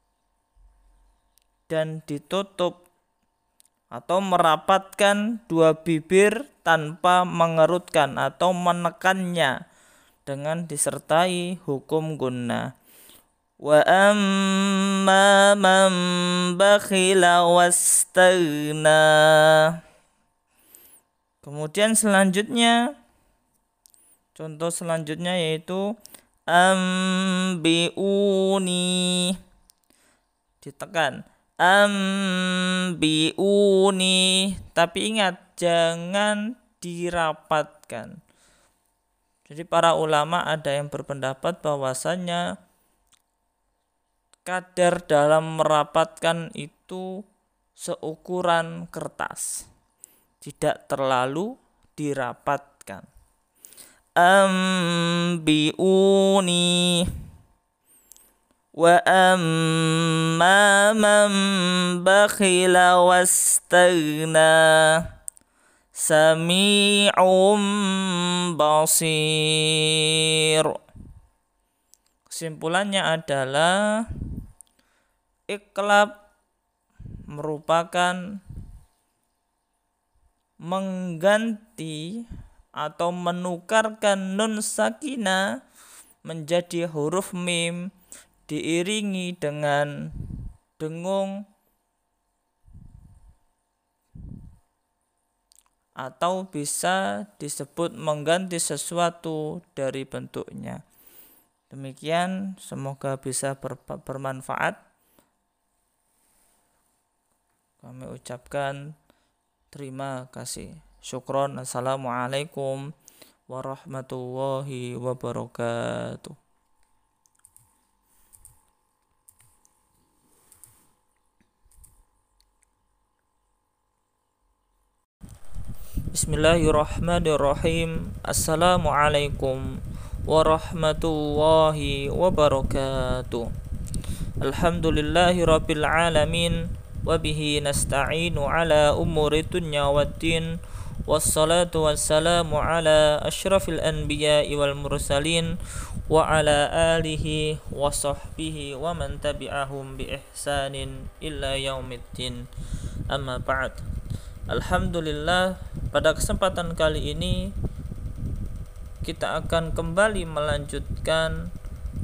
dan ditutup atau merapatkan dua bibir tanpa mengerutkan atau menekannya dengan disertai hukum gunnah. Wa amma man bakhila wastaghna. Kemudian selanjutnya, contoh selanjutnya yaitu ambiuni, ditekan ambiuni, tapi ingat jangan dirapatkan. Jadi para ulama ada yang berpendapat bahwasanya kadar dalam merapatkan itu seukuran kertas, tidak terlalu dirapatkan. Ambiuni wa amma man bakhila wastaghna sami'um basir. Kesimpulannya adalah iqlab merupakan mengganti atau menukarkan nun sakinah menjadi huruf mim diiringi dengan dengung atau bisa disebut mengganti sesuatu dari bentuknya. Demikian, semoga bisa ber- bermanfaat. Kami ucapkan terima kasih. Syukron. Assalamualaikum warahmatullahi wabarakatuh. Bismillahirrahmanirrahim. Assalamualaikum warahmatullahi wabarakatuh. Alhamdulillahi rabbil alamin, wabihi nasta'inu ala umuri dunya waddin, wassalatu wassalamu ala ashrafil anbiya'i wal mursalin, wa ala alihi wa sahbihi wa man tabi'ahum bi ihsanin illa yaumiddin. Amma ba'd. Alhamdulillah, pada kesempatan kali ini kita akan kembali melanjutkan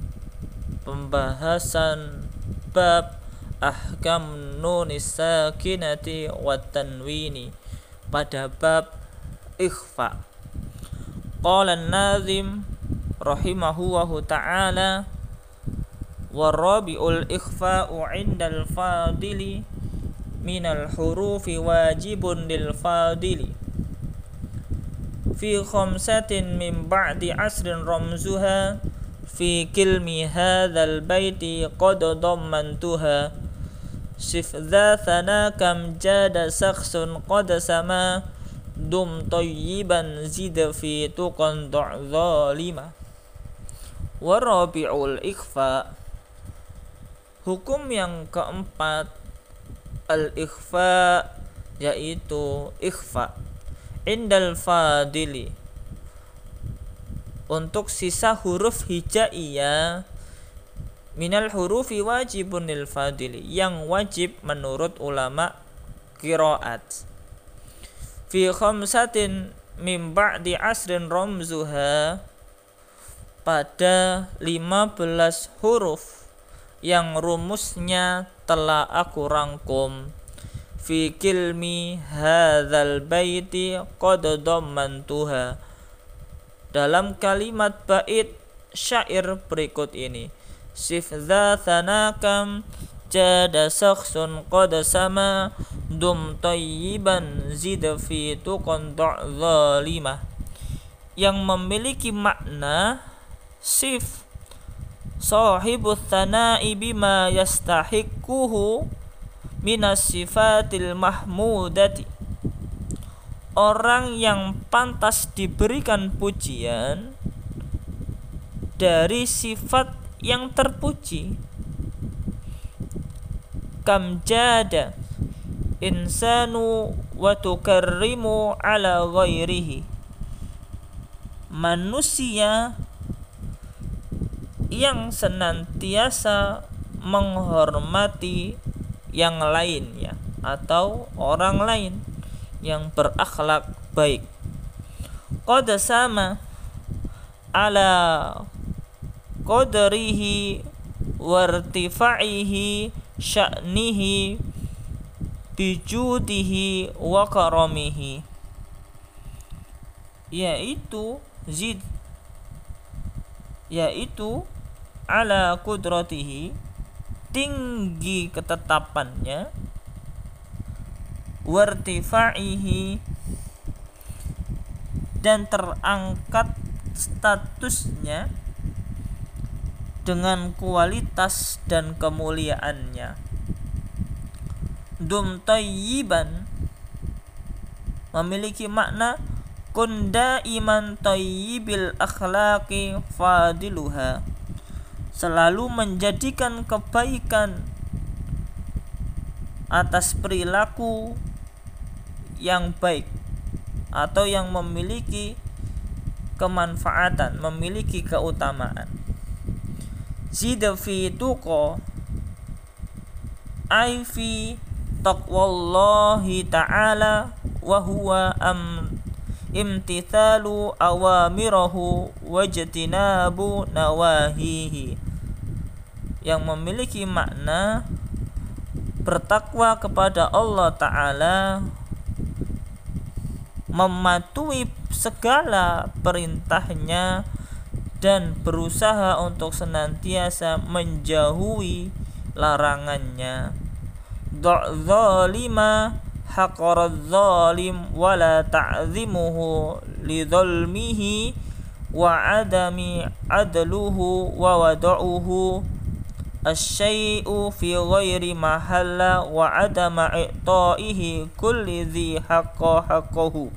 pembahasan bab ahkam nunis sakinati wa tanwini pada bab ikhfa. Qala an-nazim rahimahullahu ta'ala wa rabi'ul ikhfa'u 'indal fadili minal hurufi wajibun lil fadili fi khamsatin min ba'di asrin ramzuha fi kilmi hadzal baiti qad dammantuha sif dha thanakam jada sakhsun qad sama dum tayyiban zid fi tuqan zalima. Wa rabi'ul ikhfa, hukum yang keempat al-ikhfa, yaitu ikhfa indal fadili, untuk sisa huruf hijaiyah, minal hurufi wajibun lil fadili, yang wajib menurut ulama qiraat, fi khamsatin min ba'di asrin ramzuha, pada lima belas huruf yang rumusnya telah aku rangkum, fi kilmi hadzal baiti qad dammantuha, dalam kalimat bait syair berikut ini, sif dha thanakam jada sakhsun qad sama dum tayyiban zid fi tuqan zalimah, yang memiliki makna sif sahibus thana'i bima yastahiquhu minas sifatil mahmudati, orang yang pantas diberikan pujian dari sifat yang terpuji. Kam jada insanu wa tukarrimu ala ghairihi. Manusia yang senantiasa menghormati yang lain ya, atau orang lain yang berakhlak baik. Qad sama ala qadrihi wartifa'ihi sya'nihi bijudihi wa karamihi, yaitu zid yaitu ala kudratihi, tinggi ketetapannya, wartifa'ihi, dan terangkat statusnya dengan kualitas dan kemuliaannya. Dum tayyiban memiliki makna kun daiman tayyibil akhlaqi fadiluha, selalu menjadikan kebaikan atas perilaku yang baik atau yang memiliki kemanfaatan, memiliki keutamaan. Zida fi tuqa ay fi taqwallahi ta'ala wa huwa am imtithalu awamirahu wajtinabu nawahihi, yang memiliki makna bertakwa kepada Allah Ta'ala, mematuhi segala perintahnya dan berusaha untuk senantiasa menjauhi larangannya. Dzalima haqaradz zalim wala ta'zimuhu lidzalmihi wa adami adluhu wa wada'uhu asy-syai'u fi ghairi mahalla wa adama i'ta'ihi kulli dzi haqqa haqqahu.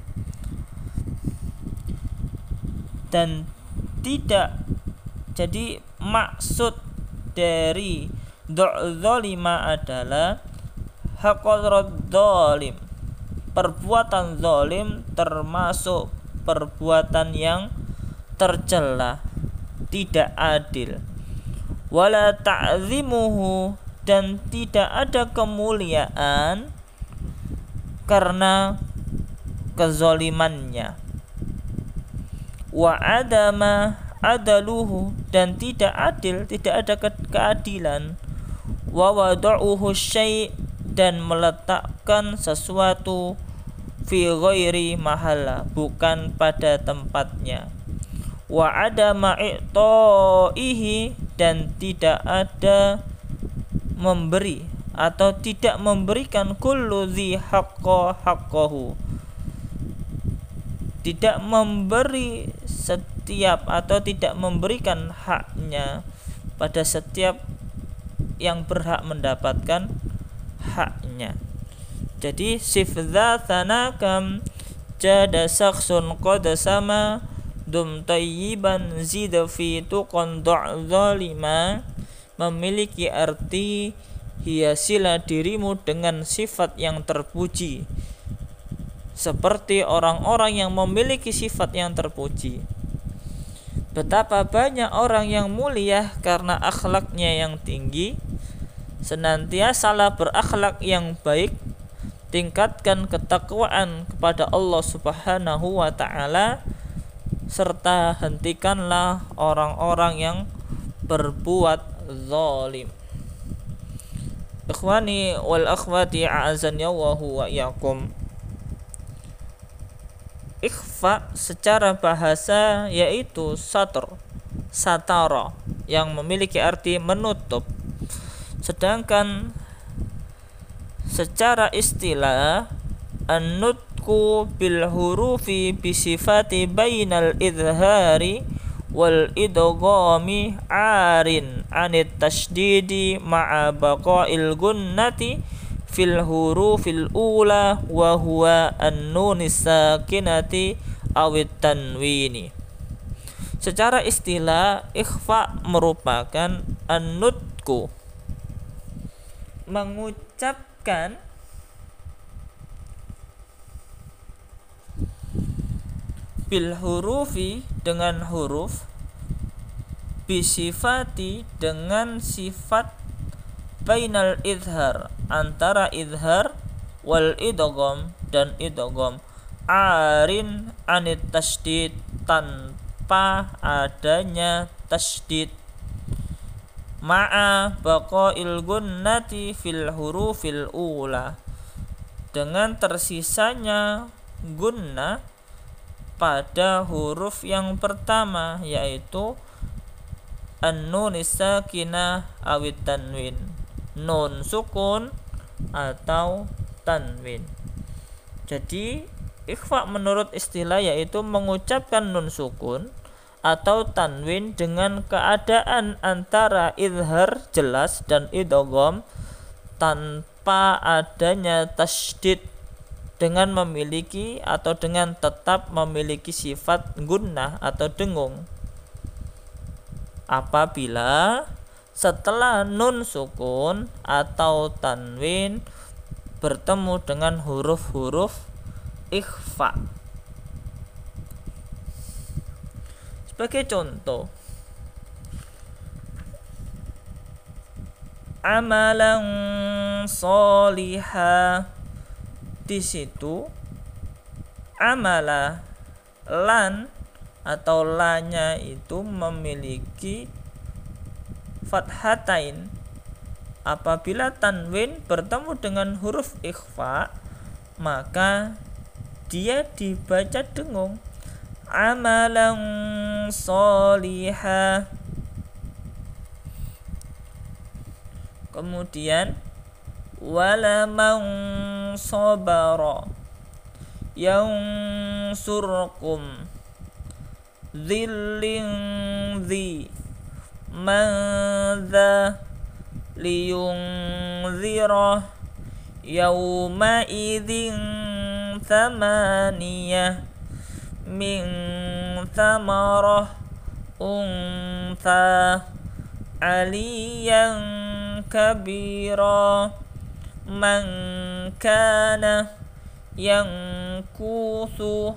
Dan tidak, jadi maksud dari dzalima adalah haqaradz zalim, perbuatan zalim termasuk perbuatan yang tercela, tidak adil. Wala ta'zimuhu, dan tidak ada kemuliaan karena kezalimannya. Wa adama adaluhu, dan tidak adil, tidak ada ke- keadilan. Wa wada'uhu syai', dan meletakkan sesuatu fi ghairi mahalla, bukan pada tempatnya. Wa adama i'ta'ihi, dan tidak ada memberi atau tidak memberikan kullu dzi haqqa haqqahu, tidak memberi setiap atau tidak memberikan haknya pada setiap yang berhak mendapatkan haknya. Jadi sifdza tsanakam jada sakhsun qad sama dum tayyiban zida fi tuqan zalima memiliki arti hiasilah dirimu dengan sifat yang terpuji seperti orang-orang yang memiliki sifat yang terpuji. Betapa banyak orang yang mulia karena akhlaknya yang tinggi. Senantiasalah berakhlak yang baik, tingkatkan ketakwaan kepada Allah Subhanahu wa ta'ala, serta hentikanlah orang-orang yang berbuat zalim. Ikhwani wal akhwati a'azani Allahu wa iyyakum. Ikhfa secara bahasa yaitu satr, satara, yang memiliki arti menutup. Sedangkan secara istilah an-nutqu bil hurufi bi sifati bainal idhari wal idghami arin anit tasydidi ma'a baqa'il gunnati fil hurufil ula wa huwa an-nunis sakinati awit tanwini. Secara istilah, ikhfa merupakan an-nutqu, mengucapkan bil hurufi dengan huruf, bisifati dengan sifat, bainal idhar antara idhar, wal idgham dan idgham, arin anit tasydid tanpa adanya tasydid, ma'a baqail gunnati fil hurufil ula dengan tersisanya gunnah pada huruf yang pertama, yaitu an-nun sakinah awit tanwin, nun sukun atau tanwin. Jadi ikhfa menurut istilah yaitu mengucapkan nun sukun atau tanwin dengan keadaan antara izhar jelas dan idgham tanpa adanya tasydid, dengan memiliki atau dengan tetap memiliki sifat gunnah atau dengung. Apabila setelah nun sukun atau tanwin bertemu dengan huruf-huruf ikhfa. Sebagai contoh, amalan sholiha, di situ amala lan atau lanya itu memiliki fathatain. Apabila tanwin bertemu dengan huruf ikhfa, maka dia dibaca dengung, amalan sholiha. Kemudian wala man sabara yansurkum dhillin dhi madza liyunzira yawma idzin thamaniyah min thamarah untha aliyan kabira man kana yang kusu,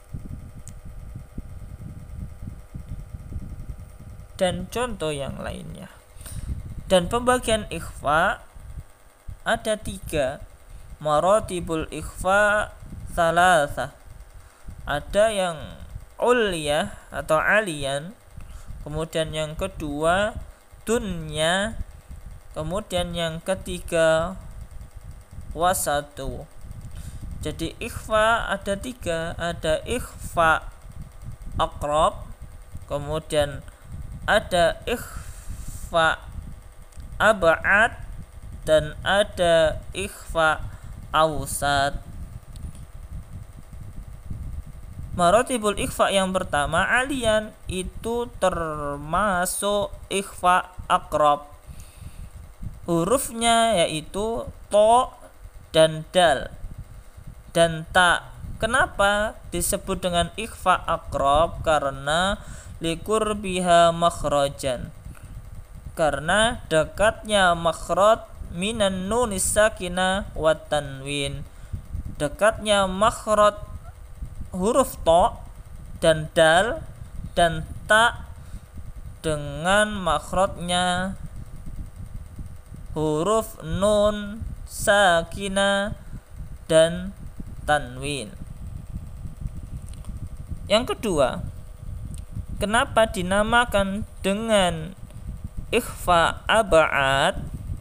dan contoh yang lainnya. Dan pembagian ikhfa ada tiga, maratibul ikhfa salasah. Ada yang ulyah atau aliyan, kemudian yang kedua dunya, kemudian yang ketiga wasatu. Jadi ikhfa ada tiga, ada ikhfa aqrab, kemudian ada ikhfa ab'ad, dan ada ikhfa awsat. Maratibul ikhfa yang pertama aliyan, itu termasuk ikhfa aqrab. Hurufnya yaitu to dan dal dan ta. Kenapa disebut dengan ikhfa aqrab? Karena likur biha makhrajan, karena dekatnya makhraj minan nunis sakinah wa tanwin, dekatnya makhraj huruf to dan dal dan ta dengan makhrajnya huruf nun sakinah dan tanwin. Yang kedua, kenapa dinamakan dengan ikhfa ab'ad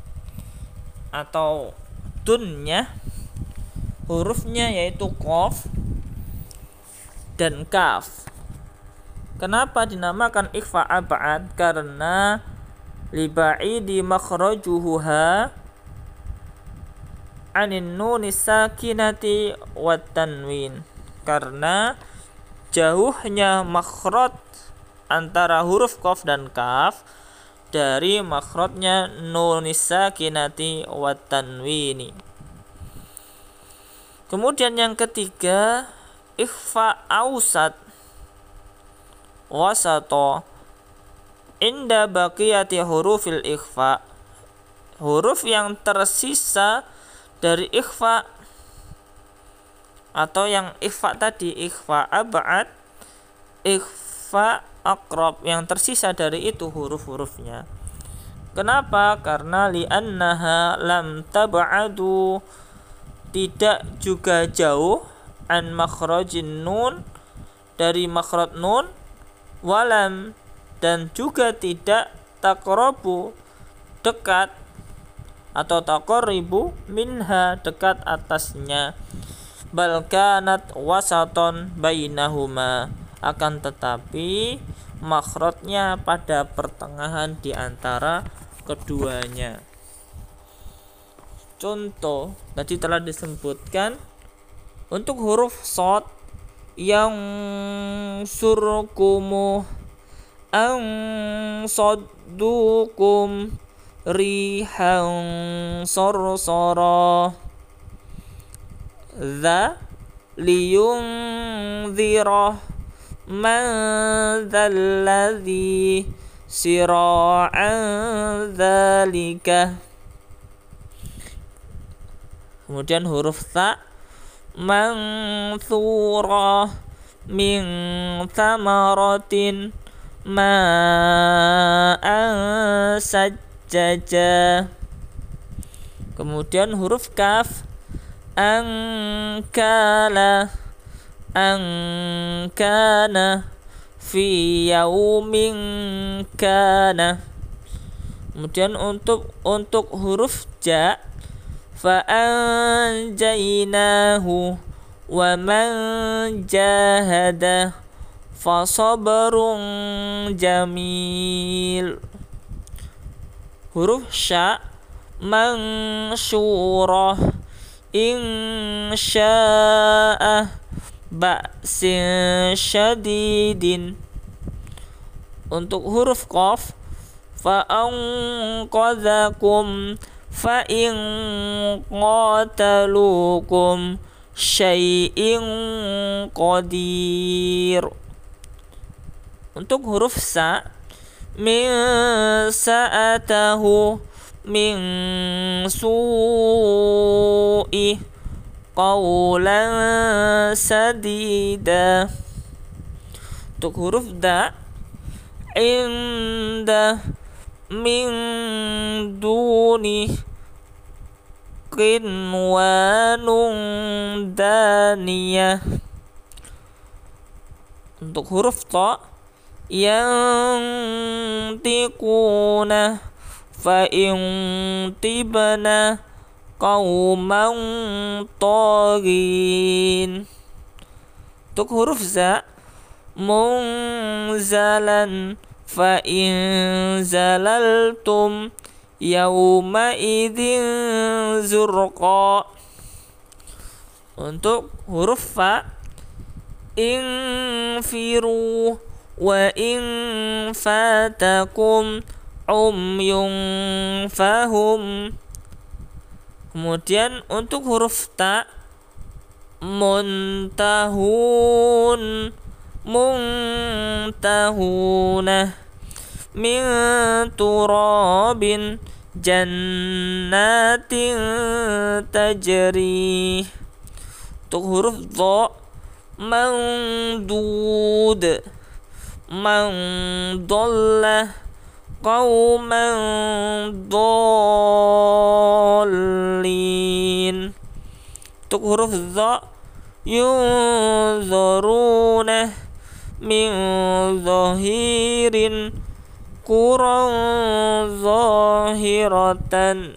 atau dunya? Hurufnya yaitu qaf dan kaf. Kenapa dinamakan ikhfa ab'ad? Karena liba'idi makhrajuha anin nunis sakinati wat tanwin, karena jauhnya makhraj antara huruf qaf dan kaf dari makhrajnya nunis sakinati wat tanwini. Kemudian yang ketiga ikhfa awsat wasato inda baqiyati hurufil ikhfa. Huruf yang tersisa dari ikhfa atau yang ikhfa tadi, ikhfa ab'ad, ikhfa aqrab, yang tersisa dari itu huruf-hurufnya. Kenapa? Karena li'annaha lam tab'adu, tidak juga jauh, an makhrajin nun, dari makhraj nun, walam, dan juga tidak taqrabu, dekat, atau taqribu minha, dekat atasnya, bal kanat wasaton bainahuma, akan tetapi makhrajnya pada pertengahan di antara keduanya. Contoh tadi telah disebutkan untuk huruf shad yang surkumu an saddukum rihan sarsara, dza liyunzira man dzalladzi sira'an dzalika. Kemudian huruf ta manthura min thamaratin ma'an sajjaja. Kemudian huruf kaf angkala angkana fi yaumin kana. Kemudian untuk untuk huruf ja fa anjaynahu wa man jahada fa sabrun jamil. Huruf sya mansyurah insya'a ba'sin syadidin. Untuk huruf qaf fa anqadhakum fa in qatalukum syai'in qadir. Untuk huruf sa min sa'atahu min su'i qawlan sadida. Untuk huruf da inda min duni qinwanun daniyah. Untuk huruf ta yang tiquna fa in tibna qauman taghin. Untuk huruf za munzalan fa in zalaltum yauma idzin zurqa. Untuk huruf fa infiru wa in fatakum umyun fahum. Kemudian untuk huruf ta muntahun muntahuna min turabin jannatin tajri. Untuk huruf dha mandud mandalla qauman dhallin. Untuk huruf dha yunzuruna min zahirin quran zahiratan.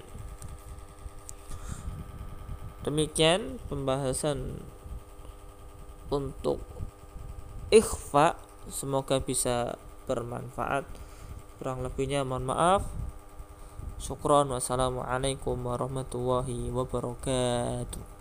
Demikian pembahasan untuk ikhfa, semoga bisa bermanfaat. Kurang lebihnya mohon maaf. Syukron. Wassalamualaikum warahmatullahi wabarakatuh.